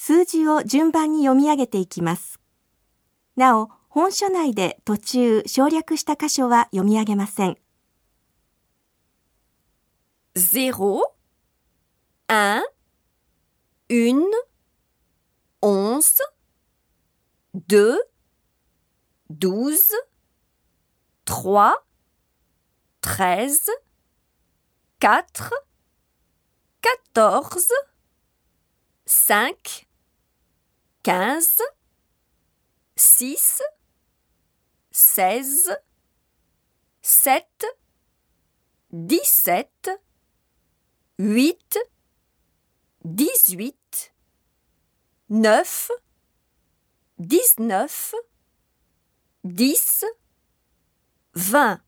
数字を順番に読み上げていきます。なお、本書内で途中省略した箇所は読み上げません。 0, 1, 1, 11, 2, 12, 3, 13, 4, 14, 5, 15, 6, 16, 7, 17, 8, 18, 9, 19, 10, 20.